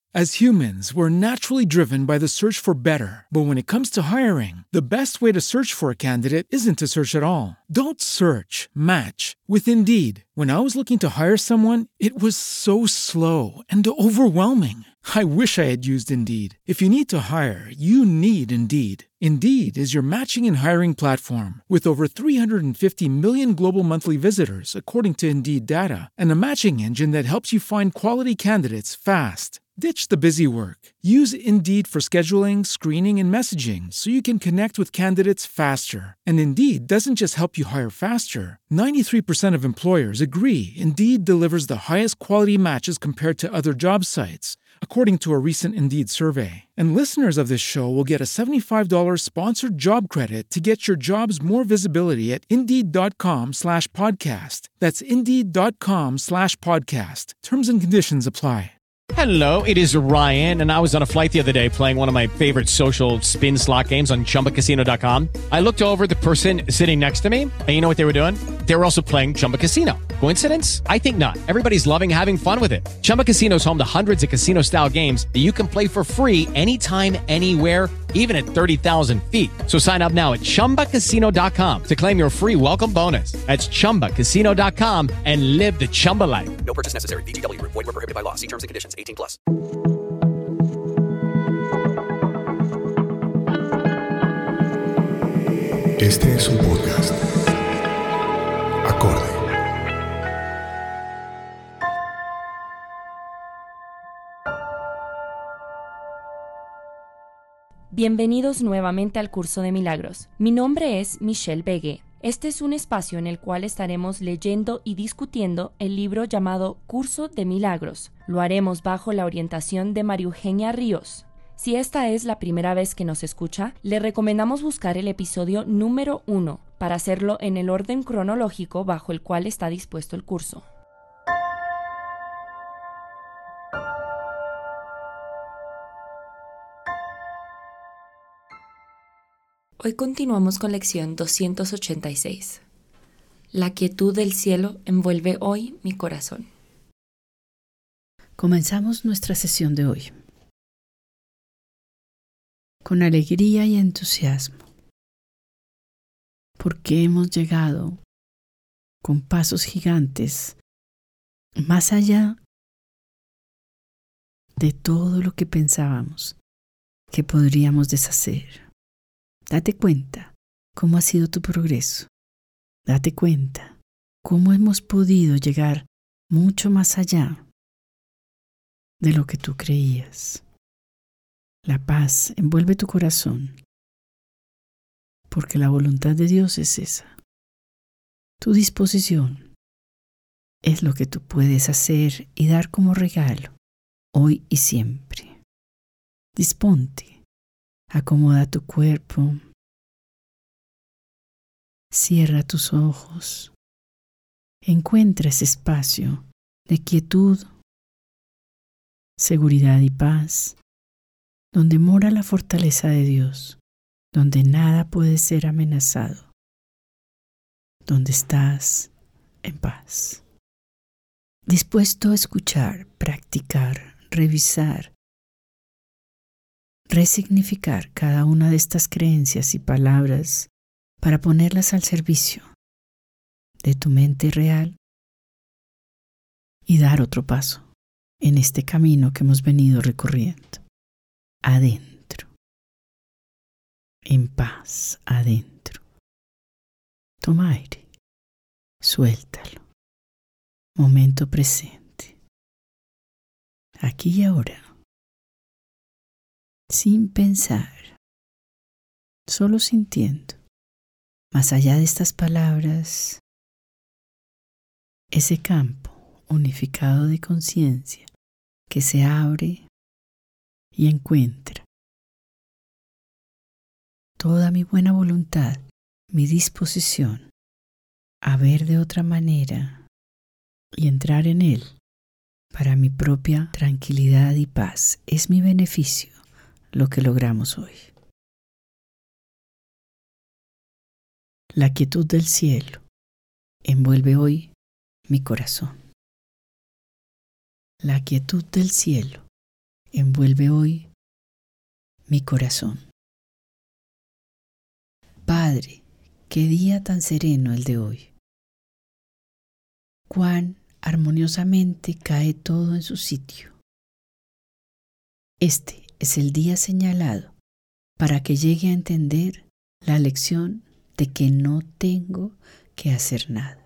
As humans, we're naturally driven by the search for better. But when it comes to hiring, the best way to search for a candidate isn't to search at all. Don't search, match with Indeed. When I was looking to hire someone, it was so slow and overwhelming. I wish I had used Indeed. If you need to hire, you need Indeed. Indeed is your matching and hiring platform with over 350 million global monthly visitors, according to Indeed data, and a matching engine that helps you find quality candidates fast. Ditch the busy work. Use Indeed for scheduling, screening, and messaging so you can connect with candidates faster. And Indeed doesn't just help you hire faster. 93% of employers agree Indeed delivers the highest quality matches compared to other job sites, according to a recent Indeed survey. And listeners of this show will get a $75 sponsored job credit to get your jobs more visibility at Indeed.com/podcast. That's Indeed.com/podcast. Terms and conditions apply. Hello, it is Ryan, and I was on a flight the other day playing one of my favorite social spin slot games on ChumbaCasino.com. I looked over at the person sitting next to me, and you know what they were doing? They were also playing Chumba Casino. Coincidence? I think not. Everybody's loving having fun with it. Chumba Casino is home to hundreds of casino-style games that you can play for free anytime, anywhere, even at 30,000 feet. So sign up now at ChumbaCasino.com to claim your free welcome bonus. That's ChumbaCasino.com and live the Chumba life. No purchase necessary. VGW. Void where prohibited by law. See terms and conditions. 18+. Este es un podcast. Acorde. Bienvenidos nuevamente al Curso de Milagros. Mi nombre es Michelle Begue. Este es un espacio en el cual estaremos leyendo y discutiendo el libro llamado Curso de Milagros. Lo haremos bajo la orientación de María Eugenia Ríos. Si esta es la primera vez que nos escucha, le recomendamos buscar el episodio número 1 para hacerlo en el orden cronológico bajo el cual está dispuesto el curso. Hoy continuamos con lección 286. La quietud del cielo envuelve hoy mi corazón. Comenzamos nuestra sesión de hoy con alegría y entusiasmo, porque hemos llegado con pasos gigantes más allá de todo lo que pensábamos que podríamos deshacer. Date cuenta cómo ha sido tu progreso. Date cuenta cómo hemos podido llegar mucho más allá de lo que tú creías. La paz envuelve tu corazón, porque la voluntad de Dios es esa. Tu disposición es lo que tú puedes hacer y dar como regalo, hoy y siempre. Disponte. Acomoda tu cuerpo, cierra tus ojos, encuentra ese espacio de quietud, seguridad y paz, donde mora la fortaleza de Dios, donde nada puede ser amenazado, donde estás en paz. Dispuesto a escuchar, practicar, revisar, resignificar cada una de estas creencias y palabras para ponerlas al servicio de tu mente real y dar otro paso en este camino que hemos venido recorriendo. Adentro, en paz, adentro. Toma aire, suéltalo. Momento presente, aquí y ahora. Sin pensar, solo sintiendo, más allá de estas palabras, ese campo unificado de conciencia que se abre y encuentra toda mi buena voluntad, mi disposición a ver de otra manera y entrar en él para mi propia tranquilidad y paz. Es mi beneficio lo que logramos hoy. La quietud del cielo envuelve hoy mi corazón. La quietud del cielo envuelve hoy mi corazón. Padre, qué día tan sereno el de hoy. Cuán armoniosamente cae todo en su sitio. Este es el día señalado para que llegue a entender la lección de que no tengo que hacer nada.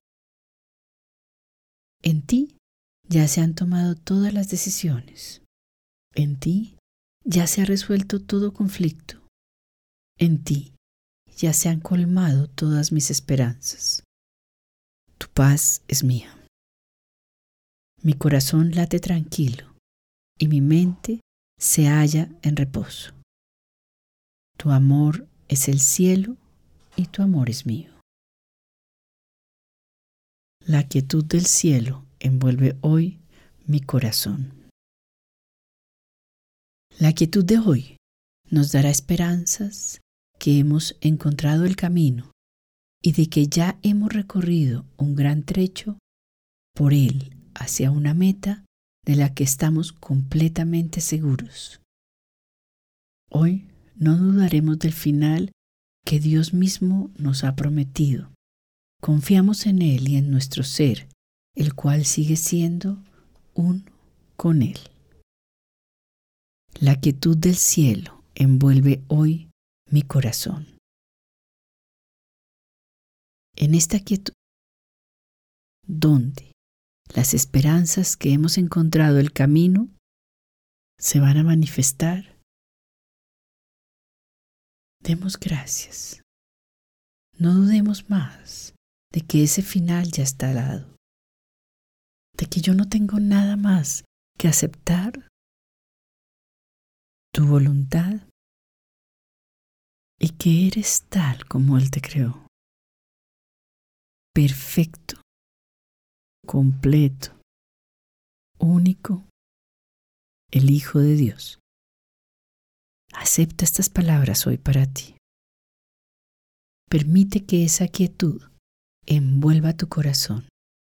En ti ya se han tomado todas las decisiones. En ti ya se ha resuelto todo conflicto. En ti ya se han colmado todas mis esperanzas. Tu paz es mía. Mi corazón late tranquilo y mi mente se halla en reposo. Tu amor es el cielo y tu amor es mío. La quietud del cielo envuelve hoy mi corazón. La quietud de hoy nos dará esperanzas que hemos encontrado el camino y de que ya hemos recorrido un gran trecho por él hacia una meta de la que estamos completamente seguros. Hoy no dudaremos del final que Dios mismo nos ha prometido. Confiamos en Él y en nuestro ser, el cual sigue siendo uno con Él. La quietud del cielo envuelve hoy mi corazón. En esta quietud, donde las esperanzas que hemos encontrado el camino se van a manifestar, demos gracias. No dudemos más de que ese final ya está dado, de que yo no tengo nada más que aceptar tu voluntad y que eres tal como Él te creó, perfecto, completo, único, el Hijo de Dios. Acepta estas palabras hoy para ti. Permite que esa quietud envuelva tu corazón.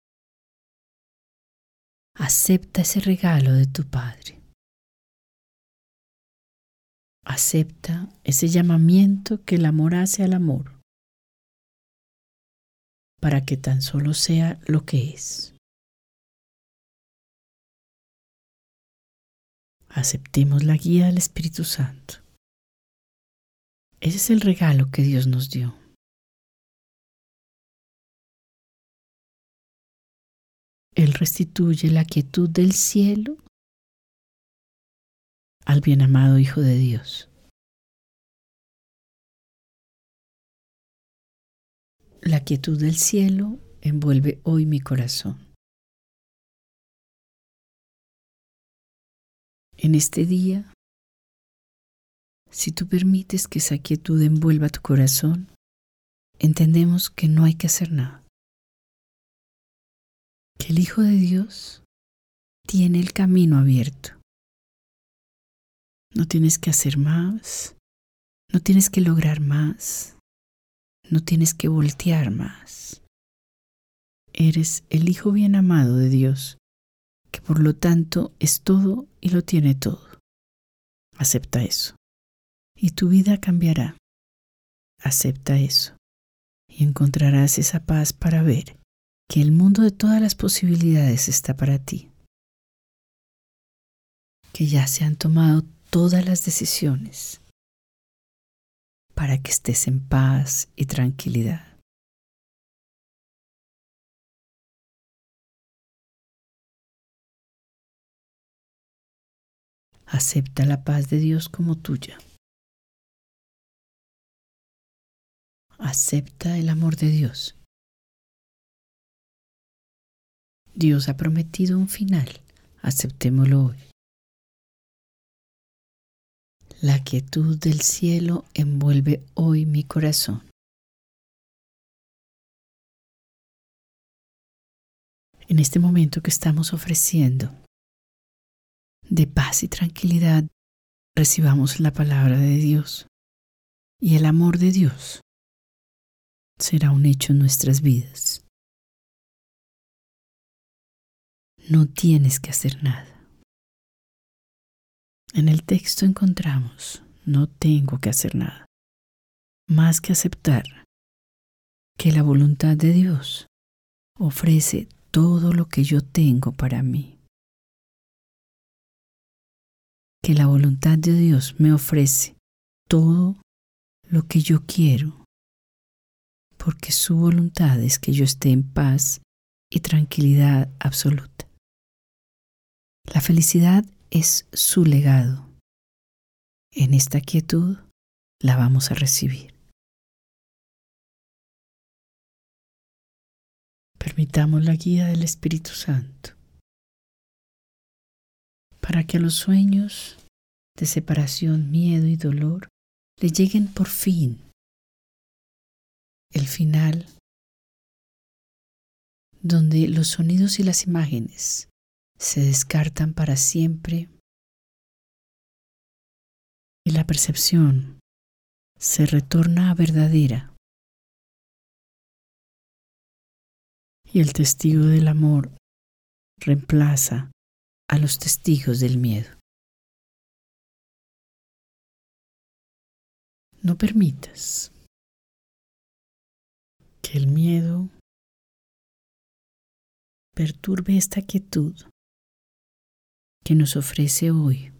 Acepta ese regalo de tu Padre. Acepta ese llamamiento que el amor hace al amor, para que tan solo sea lo que es. Aceptemos la guía del Espíritu Santo. Ese es el regalo que Dios nos dio. Él restituye la quietud del cielo al bien amado Hijo de Dios. La quietud del cielo envuelve hoy mi corazón. En este día, si tú permites que esa quietud envuelva tu corazón, entendemos que no hay que hacer nada. Que el Hijo de Dios tiene el camino abierto. No tienes que hacer más, no tienes que lograr más, no tienes que voltear más. Eres el Hijo bien amado de Dios, que por lo tanto es todo y lo tiene todo. Acepta eso. Y tu vida cambiará. Acepta eso. Y encontrarás esa paz para ver que el mundo de todas las posibilidades está para ti. Que ya se han tomado todas las decisiones para que estés en paz y tranquilidad. Acepta la paz de Dios como tuya. Acepta el amor de Dios. Dios ha prometido un final. Aceptémoslo hoy. La quietud del cielo envuelve hoy mi corazón. En este momento que estamos ofreciendo de paz y tranquilidad, recibamos la palabra de Dios y el amor de Dios será un hecho en nuestras vidas. No tienes que hacer nada. En el texto encontramos, no tengo que hacer nada, más que aceptar que la voluntad de Dios ofrece todo lo que yo tengo para mí. Que la voluntad de Dios me ofrece todo lo que yo quiero, porque su voluntad es que yo esté en paz y tranquilidad absoluta. La felicidad es su legado. En esta quietud la vamos a recibir. Permitamos la guía del Espíritu Santo para que a los sueños de separación, miedo y dolor le lleguen por fin el final, donde los sonidos y las imágenes se descartan para siempre y la percepción se retorna a verdadera y el testigo del amor reemplaza a los testigos del miedo. No permitas que el miedo perturbe esta quietud que nos ofrece hoy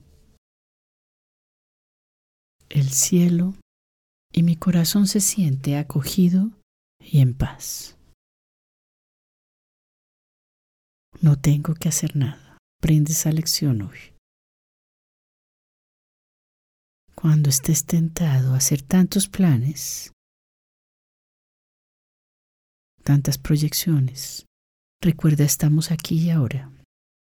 el cielo, y mi corazón se siente acogido y en paz. No tengo que hacer nada. Aprende esa lección hoy. Cuando estés tentado a hacer tantos planes, tantas proyecciones, recuerda, estamos aquí y ahora.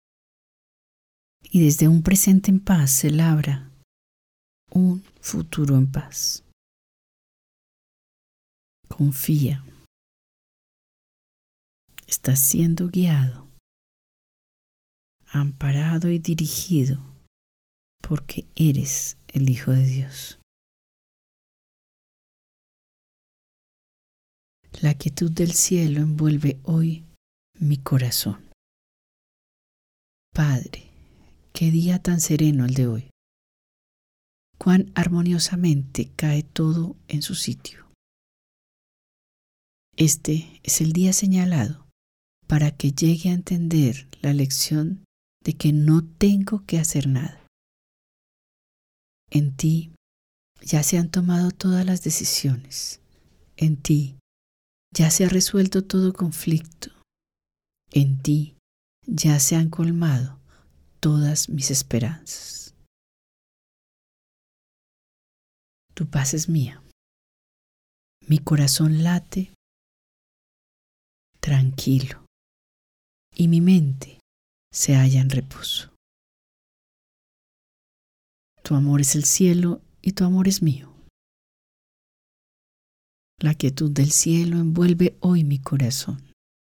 Y desde un presente en paz se labra un futuro en paz. Confía. Estás siendo guiado, amparado y dirigido porque eres el Hijo de Dios. La quietud del cielo envuelve hoy mi corazón. Padre, qué día tan sereno el de hoy. Cuán armoniosamente cae todo en su sitio. Este es el día señalado para que llegue a entender la lección de que no tengo que hacer nada. En ti ya se han tomado todas las decisiones. En ti ya se ha resuelto todo conflicto. En ti ya se han colmado todas mis esperanzas. Tu paz es mía. Mi corazón late tranquilo y mi mente se halla en reposo. Tu amor es el cielo y tu amor es mío. La quietud del cielo envuelve hoy mi corazón.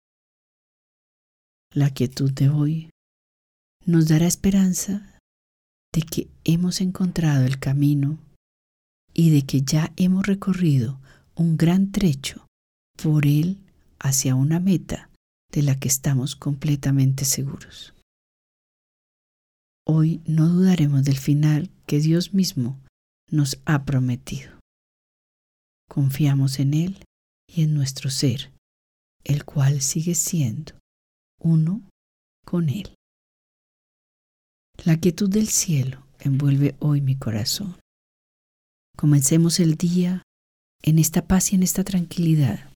La quietud de hoy nos dará esperanza de que hemos encontrado el camino y de que ya hemos recorrido un gran trecho por él hacia una meta de la que estamos completamente seguros. Hoy no dudaremos del final que Dios mismo nos ha prometido. Confiamos en Él y en nuestro ser, el cual sigue siendo uno con Él. La quietud del cielo envuelve hoy mi corazón. Comencemos el día en esta paz y en esta tranquilidad.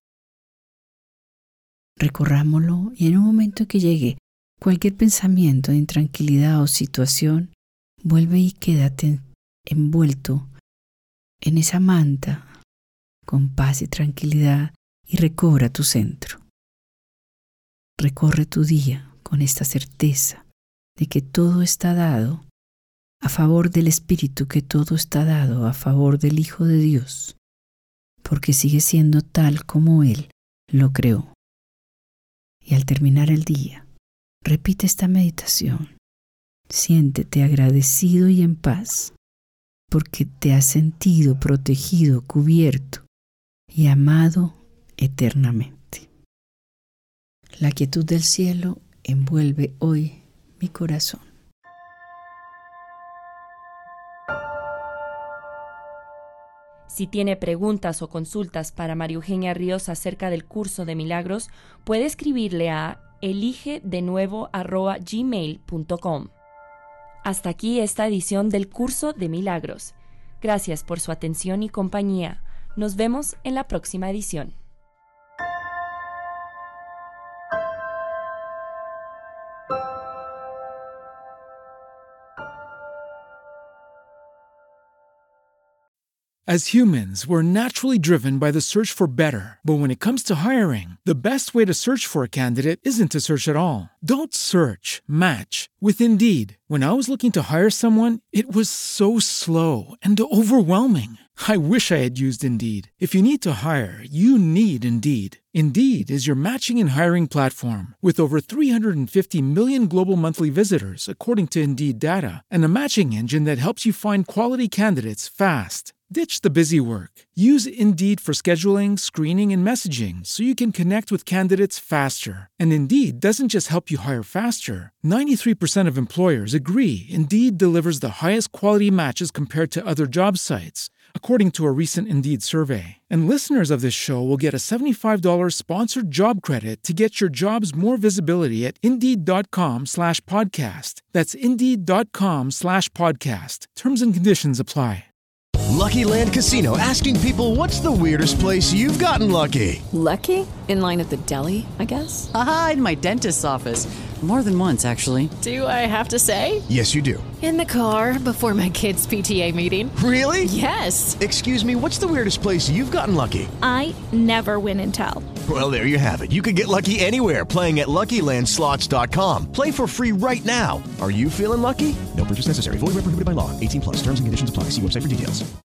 Recorrámoslo y en un momento que llegue cualquier pensamiento de intranquilidad o situación, vuelve y quédate envuelto en esa manta con paz y tranquilidad y recobra tu centro. Recorre tu día con esta certeza de que todo está dado a favor del Espíritu, que todo está dado a favor del Hijo de Dios, porque sigue siendo tal como Él lo creó. Y al terminar el día, repite esta meditación. Siéntete agradecido y en paz, porque te has sentido protegido, cubierto y amado eternamente. La quietud del cielo envuelve hoy mi corazón. Si tiene preguntas o consultas para María Eugenia Ríos acerca del curso de milagros, puede escribirle a eligedenuevo@gmail.com. Hasta aquí esta edición del curso de milagros. Gracias por su atención y compañía. Nos vemos en la próxima edición. As humans, we're naturally driven by the search for better. But when it comes to hiring, the best way to search for a candidate isn't to search at all. Don't search, match with Indeed. When I was looking to hire someone, it was so slow and overwhelming. I wish I had used Indeed. If you need to hire, you need Indeed. Indeed is your matching and hiring platform with over 350 million global monthly visitors, according to Indeed data, and a matching engine that helps you find quality candidates fast. Ditch the busy work. Use Indeed for scheduling, screening, and messaging so you can connect with candidates faster. And Indeed doesn't just help you hire faster. 93% of employers agree Indeed delivers the highest quality matches compared to other job sites, according to a recent Indeed survey. And listeners of this show will get a $75 sponsored job credit to get your jobs more visibility at Indeed.com/podcast. That's Indeed.com/podcast. Terms and conditions apply. Lucky Land Casino, asking people, what's the weirdest place you've gotten lucky? Lucky? In line at the deli, I guess? Aha, in my dentist's office. More than once, actually. Do I have to say? Yes, you do. In the car before my kids' PTA meeting. Really? Yes. Excuse me, what's the weirdest place you've gotten lucky? I never win and tell. Well, there you have it. You can get lucky anywhere, playing at LuckyLandSlots.com. Play for free right now. Are you feeling lucky? No purchase necessary. Void where prohibited by law. 18+. Terms and conditions apply. See website for details.